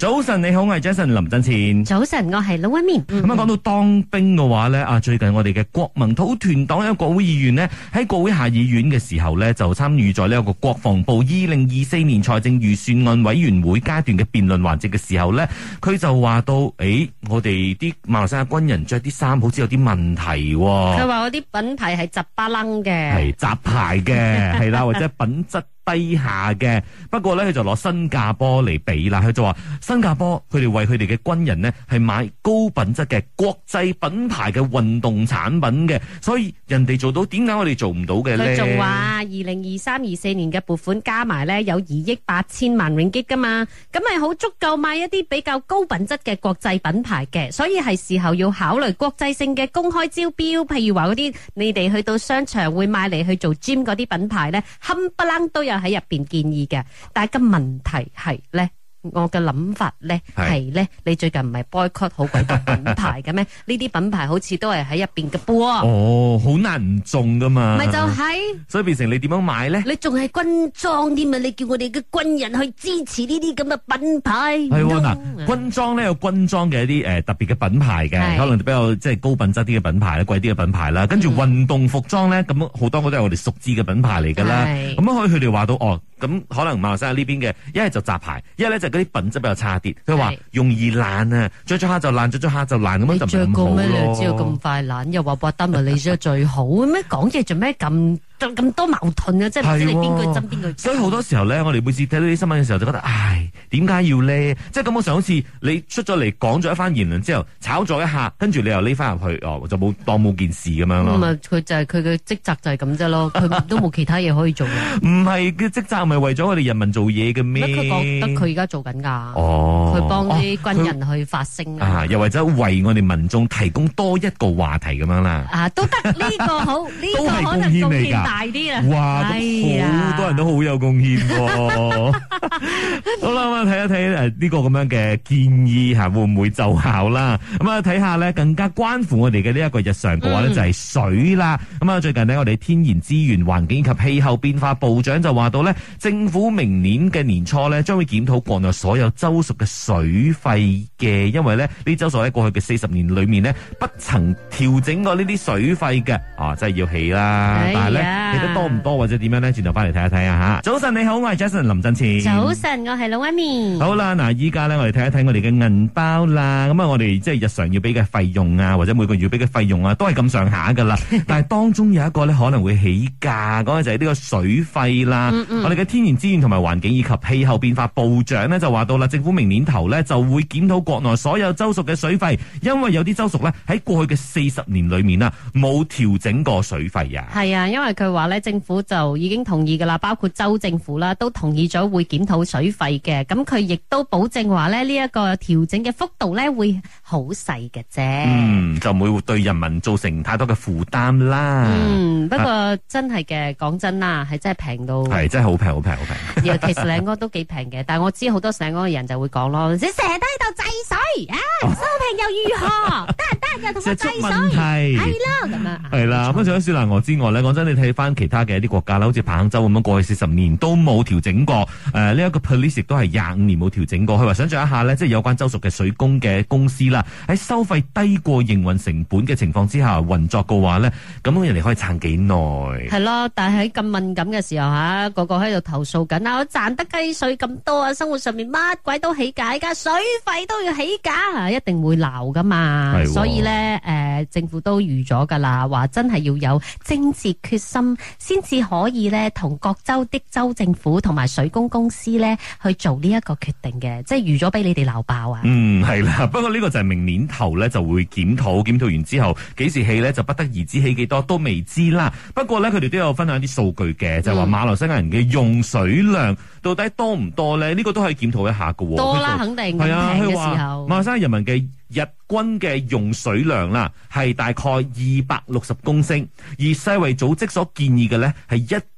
早晨你好，我係 Jason 林振前。 早晨，我係老一面。 咁講到當兵嘅話咧，最近我哋嘅國民土團黨有個國會議員呢，喺國會下議院嘅時候呢，就參與咗呢一個國防部2024年財政預算案委員會階段嘅辯論環節嘅時候呢，佢就話到，我哋啲馬來西亞軍人着啲衫好似有啲問題。 佢話嗰啲品牌係雜巴楞嘅， 係雜牌嘅，係啦，或者品質低下嘅。不過咧，佢就攞新加坡嚟比啦。佢就話新加坡佢哋為佢哋嘅軍人呢係買高品質嘅國際品牌嘅運動產品嘅，所以人哋做到，點解我哋做唔到嘅咧？ 佢仲話2023-24年嘅撥款加埋咧有2億8千萬 ringgit 噶嘛，咁係好足夠買一啲比較高品質嘅國際品牌嘅，所以係時候要考慮國際性嘅公開招標，譬如話嗰啲你哋去到商場會買嚟去做 gym 嗰啲品牌咧，冚唪唥都有喺入邊建議嘅，但係個問題係咧，我嘅諗法咧係咧，你最近唔係 boycott 好鬼多品牌嘅咩？呢啲品牌好似都係喺入邊嘅噃。 哦，好難唔中噶嘛。 咪就係， 所以變成你點樣買咧？ 你仲係軍裝添啊！你叫我哋嘅軍人去支持呢啲咁嘅品牌。 係嗱，軍裝咧有軍裝嘅一啲特別嘅品牌嘅，可能比較即係高品質啲嘅品牌咧，貴啲嘅品牌啦。跟住運動服裝咧，咁好多都係我哋熟知嘅品牌嚟噶啦。咁可以佢哋話到咁可能馬來西亞呢邊嘅一係就雜牌，一係咧就嗰啲品質比較差啲。佢話容易爛啊，着咗下就爛，着咗下就爛，咁樣就唔好咯。你着過咩？你知道咁快爛，又話博得咪你着最好咩？講嘢做咩咁多矛盾啊！即係唔知你邊句真邊句。所以好多時候咧，我哋每次睇到啲新聞嘅時候就覺得，點解要咧？即係感覺上好似你出咗嚟講咗一番言論之後，炒咗一下，跟住你又匿翻入去，就當冇件事咁樣咯。咁佢就係佢嘅職責就係咁啫咯，佢都冇其他嘢可以做。唔係嘅職責，咪為咗我哋人民做嘢嘅咩？ 佢覺得佢而家做緊噶，佢幫啲軍人去發聲又或者為我哋民眾提供多一個話題咁樣啦。 都得呢個好，呢個可能貢獻大啲啊！ 哇，好多人都好有貢獻喎。好啦，咁啊睇一睇呢個咁樣嘅建議會唔會奏效啦？咁啊睇下咧，更加關乎我哋嘅呢一個日常嘅話咧，就係水啦。咁啊最近呢，我哋天然資源環境及氣候變化部長就話到咧，政府明年嘅年初咧，將會檢討國內所有州屬嘅水費嘅，因為咧呢州屬喺過去嘅40年裏面呢，不曾調整過呢啲水費嘅，真係要起啦。但係咧起得多唔多或者點樣咧？轉頭翻嚟睇一睇啊吓！早晨你好，我係 Jason 林振前。 早晨，我係老一面。 好啦，嗱，依家咧我哋睇一睇我哋嘅銀包啦。咁我哋即係日常要俾嘅費用啊，或者每個月要俾嘅費用啊，都係咁上下噶啦。但係當中有一個咧可能會起價，講嘅就係呢個水費啦。我哋嘅天然資源同埋環境以及氣候變化部長呢，就話到啦，政府明年頭咧就會檢討國內所有州屬嘅水費，因為有啲州屬咧喺過去嘅40年裏面啊冇調整過水費啊。 係啊，因為佢話咧政府就已經同意噶啦，包括州政府啦都同意咗會檢討水費嘅。咁佢亦都保證話咧呢一個調整嘅幅度咧會好細嘅啫。 就唔會對人民造成太多嘅負擔啦。 不過真係嘅，講真啦，係真係平到係真係好平好平好平。 其實兩個都幾平嘅，但係我知好多成個嘅人就會講咯，你成日都喺度制水啊，收平又如何？得唔得？又同我制水，係啦咁樣。係啦， 咁除咗雪蘭莪之外咧，講真，你睇翻其他嘅一啲國家啦，好似彭亨州咁樣，過去40年都冇調整過。呢一個 police 亦都係25年冇調整過。佢話想象一下咧，即係有關州屬嘅水供嘅公司啦，喺收費低過營運成本嘅情況之下運作嘅話咧，咁人哋可以撐幾耐？ 係咯，但係喺咁敏感嘅時候吓，個個喺度投訴緊啊！我賺得雞碎咁多啊，生活上面乜鬼都起價，而家水費都要起價，一定會鬧噶嘛。所以咧，政府都預咗噶啦，話真係要有政治決心，先至可以咧同各州的州政府同埋水供公司咧去做呢一個決定嘅，即係預咗俾你哋鬧爆啊！ 係啦，不過呢個就係明年頭咧就會檢討完之後幾時起咧就不得而知，起幾多都未知啦。不過咧佢哋都有分享啲數據嘅，就係話馬來西亞人嘅用水量到底多唔多咧？呢個都可以檢討一下㗎。 多啦，肯定係啊。佢話馬來西亞人民嘅日均嘅用水量啦，係大概260公升，而世衛組織所建議嘅咧係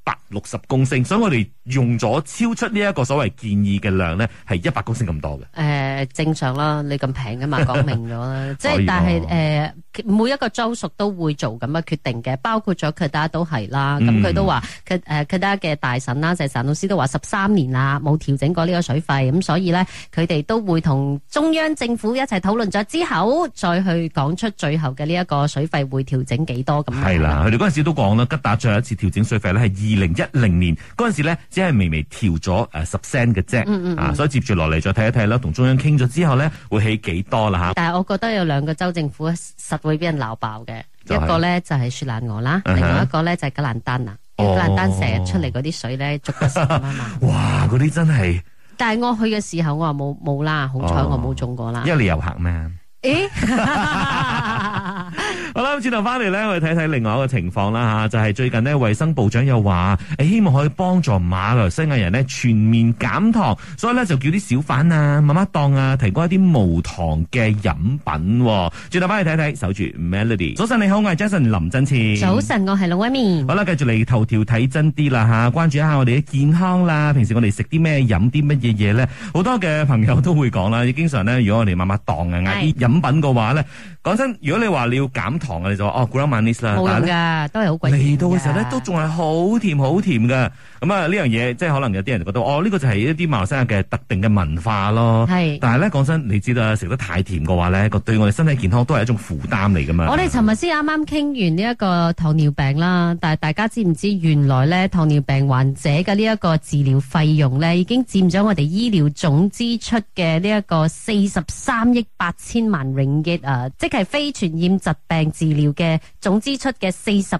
160公升，所以我哋用咗超出呢一個所謂建議嘅量咧，係100公升咁多嘅。 正常啦，你咁平噶嘛，講明咗啦。即係但係每一個州屬都會做咁嘅決定嘅，包括咗Kedah都係啦。咁佢都話Kedah嘅大臣啦，就係陳老師都話13年啦，冇調整過呢個水費，咁所以咧佢哋都會同中央政府一齊討論咗之後，再去講出最後嘅呢一個水費會調整幾多咁。 係啦，佢哋嗰陣時都講啦，吉打最後一次調整水費咧係2010年嗰陣時咧，只係微微調咗10 cent 嘅啫。所以接住落嚟再睇一睇啦，同中央傾咗之後咧會起幾多啦吓。但係我覺得有兩個州政府實會俾人鬧爆嘅，一個咧就係雪蘭莪啦，另外一個咧就係吉蘭丹啊。吉蘭丹成日出嚟嗰啲水咧，足得成啊嘛。 哇，嗰啲真係。 但係我去嘅時候，我話冇啦，好彩我冇中過啦。 因為你遊客咩？好啦，轉頭翻嚟咧，我哋睇睇另外一個情況啦吓，就係最近呢，衛生部長又話希望可以幫助馬來西亞人呢全面減糖，所以咧就叫啲小販啊、媽媽檔啊提供一啲無糖嘅飲品。轉頭翻嚟睇睇，守住 Melody。早晨你好，我係 Jason 林振前。 早晨，我係龍威面。 好啦，繼續嚟頭條睇真啲啦吓，關注一下我哋嘅健康啦。平時我哋食啲咩、飲啲乜嘢嘢咧？好多嘅朋友都會講啦，經常咧，如果我哋媽媽檔啊嗌啲飲品嘅話咧，講真，如果你話你要減糖啊，你就話Gula Manis啦， 冇用噶，都係好貴。 嚟到嘅時候咧，都仲係好甜好甜噶。咁啊，呢樣嘢即係可能有啲人覺得，呢個就係一啲馬來西亞嘅特定嘅文化咯。係，但係咧講真，你知道食得太甜嘅話咧，對我哋身體健康都係一種負擔嚟噶嘛。我哋尋日先啱啱傾完呢一個糖尿病啦，但係大家知唔知原來咧糖尿病患者嘅呢一個治療費用咧，已經佔咗我哋醫療總支出嘅呢一個43億8千萬 ringgit 啊，即係非傳染疾病治療嘅總支出嘅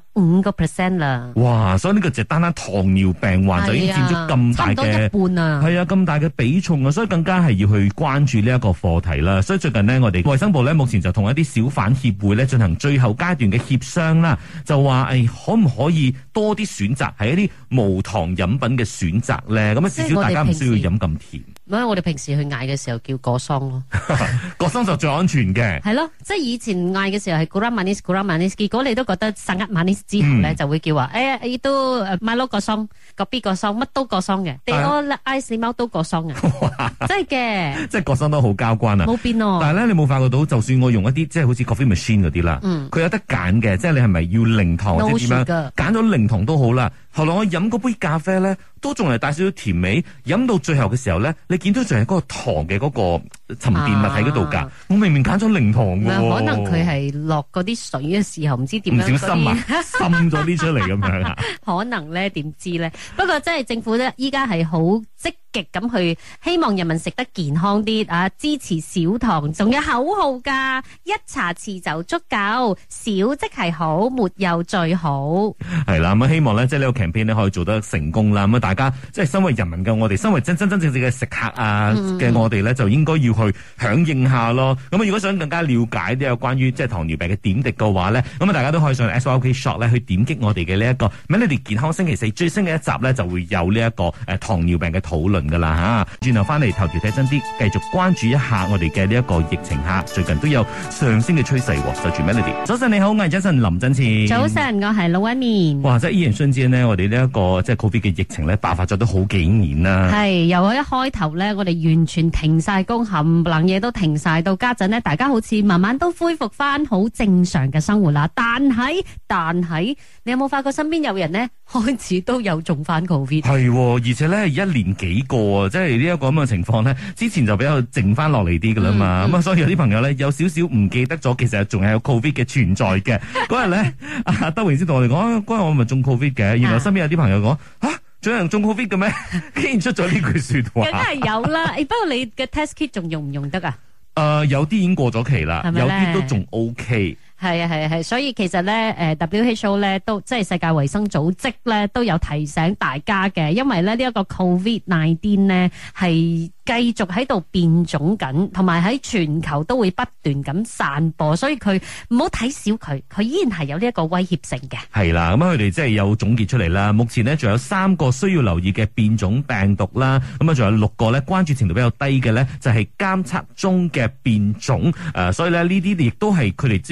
45% 啦。哇！所以呢個就單單糖尿病患就已經佔咗咁大嘅，差唔多一半啊。係啊，咁大嘅比重啊，所以更加係要去關注呢一個課題啦。所以最近呢，我哋衛生部咧目前就同一啲小販協會咧進行最後階段嘅協商啦，就話可唔可以多啲選擇係一啲無糖飲品嘅選擇咧？咁啊，至少大家唔需要飲咁甜。我哋平時去嗌嘅時候叫果桑咯，果桑就最安全嘅。係咯，即係以前嗌嘅時候係 Gula Manis，結果你都覺得11 Manis 之後咧就會叫話，都買攞果桑，個 B 果桑，乜都果桑嘅，地我 ice 貓都果桑嘅，真係嘅。即係果桑都好交關啊，冇變咯。但係咧，你冇發覺到，就算我用一啲即係好似 coffee machine 嗰啲啦，佢有得揀嘅，即係你係咪要零糖或者點樣？揀咗零糖都好啦。後來我飲嗰杯咖啡咧，都仲係帶少少甜味，飲到最後嘅時候咧，你見到仲係嗰個糖嘅嗰個沉澱物喺嗰度㗎。我明明揀咗零糖㗎。可能佢係落嗰啲水嘅時候，唔知點樣唔小心滲咗啲出嚟咁樣啊。可能咧，點知咧？不過真係政府咧，依家係好積極咁去希望人民食得健康啲啊！支持少糖，仲有口號㗎，一茶匙就足夠，少即係好，沒有最好。係啦，咁希望咧，即係呢個campaign咧可以做得成功啦。咁大家即係身為人民嘅我哋，身為真正嘅食客啊嘅我哋咧，就應該要去響應下咯。咁如果想更加了解呢個關於即係糖尿病嘅點滴嘅話咧，咁大家都可以上 SYOK Shop 咧去點擊我哋嘅呢一個 Melody 健康星期四最新嘅一集咧，就會有呢一個糖尿病嘅討論噶啦吓。轉頭翻嚟頭條睇真啲，繼續關注一下我哋嘅呢一個疫情下，最近都有上升嘅趨勢。守住 Melody。早晨你好，我係 Jason 林振前。早晨，我係老一面。哇！即係依然瞬間呢，我哋呢一個即係 Covid 嘅疫情咧爆發咗都好幾年啦。係由一開頭咧，我哋完全停晒工，冚唪唥嘢都停晒，到家陣呢，大家好似慢慢都恢復翻好正常嘅生活啦。但係，你有冇發覺身邊有人呢開始都有中翻 Covid？係，而且咧係一年幾個啊，即係呢一個咁嘅情況咧，之前就比較靜翻落嚟啲噶啦嘛。咁所以有啲朋友咧有少少唔記得咗，其實仲係有 Covid 嘅存在嘅。嗰日咧，阿德榮先同我哋講，嗰日我咪中 Covid 嘅，原來身邊有啲朋友講仲有人中 Covid 嘅咩？竟然出咗呢句說話。梗係有啦，不過你嘅 test kit 仲用唔用得啊？有啲已經過咗期啦，有啲都仲 OK。係啊，所以其實咧，WHO 咧都即係世界衛生組織咧都有提醒大家嘅，因為咧呢一個 COVID-19 咧係繼續喺度變種緊，同埋喺全球都會不斷咁散播，所以佢唔好睇小佢，佢依然係有呢一個威脅性嘅。係啦，咁佢哋即係有總結出嚟啦。目前呢，仲有3個需要留意嘅變種病毒啦，咁啊仲有6個咧關注程度比較低嘅咧，就係監測中嘅變種。所以咧呢啲亦都係佢哋都要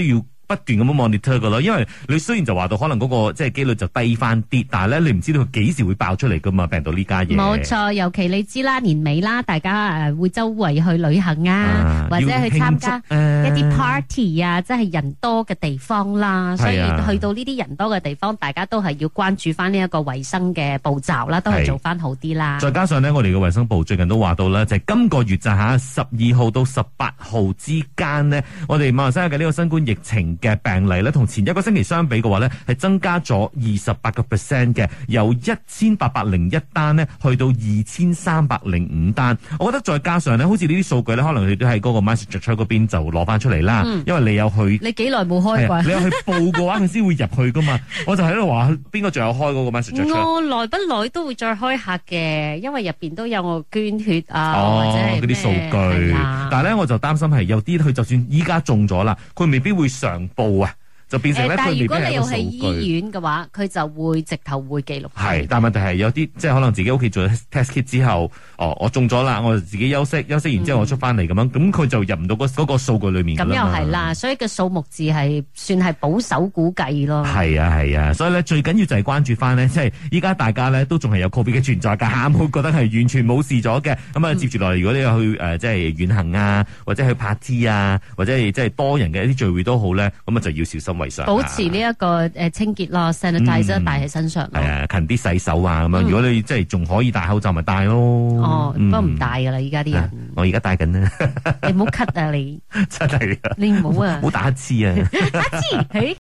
不斷咁樣 monitor 噶咯，因為你雖然就話到可能嗰個即係機率就低翻啲，但係咧你唔知道佢幾時會爆出嚟噶嘛，病毒呢家嘢。 冇錯，尤其你知啦，年尾啦，大家會周圍去旅行啊，或者去參加一啲 party 啊，即係人多嘅地方啦。所以去到呢啲人多嘅地方，大家都係要關注翻呢一個衛生嘅步驟啦，都係做翻好啲啦。 再加上咧，我哋嘅衛生部最近都話到啦，就係今個月就嚇12號到18號之間呢，我哋馬來西亞嘅呢個新冠疫情嘅病例咧，同前一個星期相比嘅話咧，係增加咗28%嘅，由1801單呢去到2305單。我覺得再加上咧，好似呢啲數據咧，可能你都喺嗰個 MySejahtera 嗰邊就攞翻出嚟啦。因為你有去， 你幾耐冇開過？ 你有去報嘅話，佢先會入去噶嘛。我就喺度話，邊個仲有開嗰個 MySejahtera？ 我耐不耐都會再開下嘅，因為入邊都有我捐血啊，或者嗰啲數據。但係咧，我就擔心係有啲佢就算依家中咗啦，佢未必會上報啊。就變成咧， 但係如果你佢未必係一個數據。 要喺醫院嘅話，佢就會直頭會記錄。 係，但係問題係有啲即係可能自己屋企做 test kit 之後，我中咗啦，我就自己休息完之後我出翻嚟咁樣，咁佢就入唔到嗰個數據裏面㗎啦。 咁又係啦，所以個數目字係算係保守估計咯。 係啊，所以咧最緊要就係關注翻呢，即係依家大家咧都仲係有 COVID 嘅存在㗎嚇，冇覺得係完全冇事咗嘅。咁啊，接住落嚟，如果你有去即係遠行啊，或者去party啊，或者係即係多人嘅一啲聚會都好咧，咁啊就要小心為上。 保持呢一個清潔咯 ，sanitizer 帶喺身上咯。 係啊，勤啲洗手啊咁樣。如果你即係仲可以戴口罩，咪戴咯。 哦，不過唔戴噶啦，依家啲人。 我而家戴緊啦。 你唔好咳啊你！ 真係啊！ 你唔好啊！ 唔好打乞嗤啊！ 乞嗤，